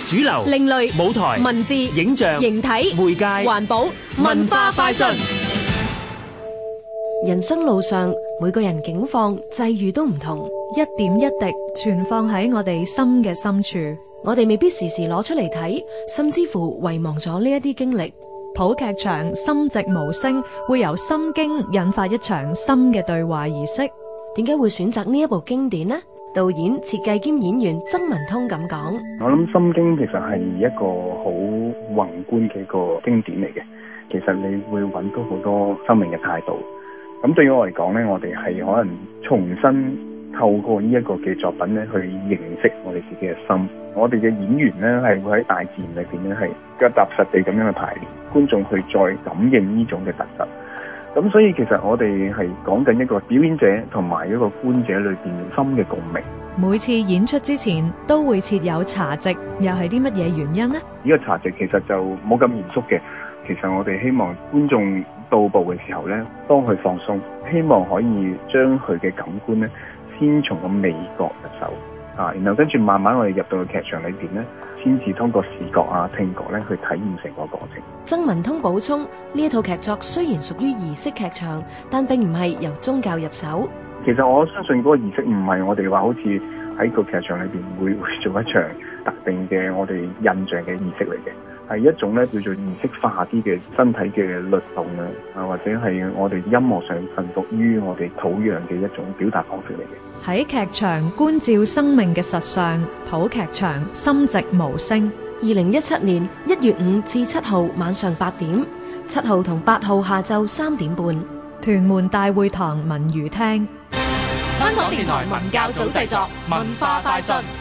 主流、 另類、 舞台、 文字、 影像、 形體、 媒介、 環保、文化快訊。 人生路上，每個人境況際遇都唔同， 一點一滴存放喺我哋心嘅深處。 我哋未必時時攞出嚟睇，甚至乎遺忘咗呢一啲經歷。 普劇場心寂無聲會由心經引發一場心嘅對話儀式。 點解會選擇呢一部經典呢？導演、設計兼演員曾文通咁講： 我諗《心經》其實係一個好宏觀嘅一個經典嚟嘅。其實你會揾到好多生命嘅態度。咁對於我嚟講呢，我哋係可能重新透過呢一個嘅作品呢，去認識我哋自己嘅心。我哋嘅演員呢，係會喺大自然裏邊呢，係腳踏實地咁樣去排練，觀眾去再感應呢種嘅特質。咁所以其實我哋係講緊一個表演者同埋一個觀者裏邊心嘅共鳴。 每次演出之前都會設有茶席，又係啲乜嘢原因呢？ 呢個茶席其實就冇咁嚴肅嘅。其實我哋希望觀眾到步嘅時候呢，當佢放鬆，希望可以將佢嘅感官呢，先從個味覺入手啊，然後跟住慢慢我哋入到個劇場裏邊呢，先至通過視覺啊、聽覺呢去體驗成個過程。 曾文通補充：呢一套劇作雖然屬於儀式劇場，但並唔係由宗教入手。 其實我相信嗰個儀式唔係我哋話好似喺個劇場裏邊會做一場特定嘅我哋印象嘅儀式嚟嘅。係一種咧叫做儀式化啲嘅身體嘅律動啊，或者係我哋音樂上臣服於我哋土壤嘅一種表達方式嚟嘅。 喺劇場觀照生命嘅實相，普劇場心寂無聲。 2017年1月5至7號晚上8點，7號同8號下晝3點半， 屯門大會堂文娛廳。 香港電台文教組製作，文化快訊。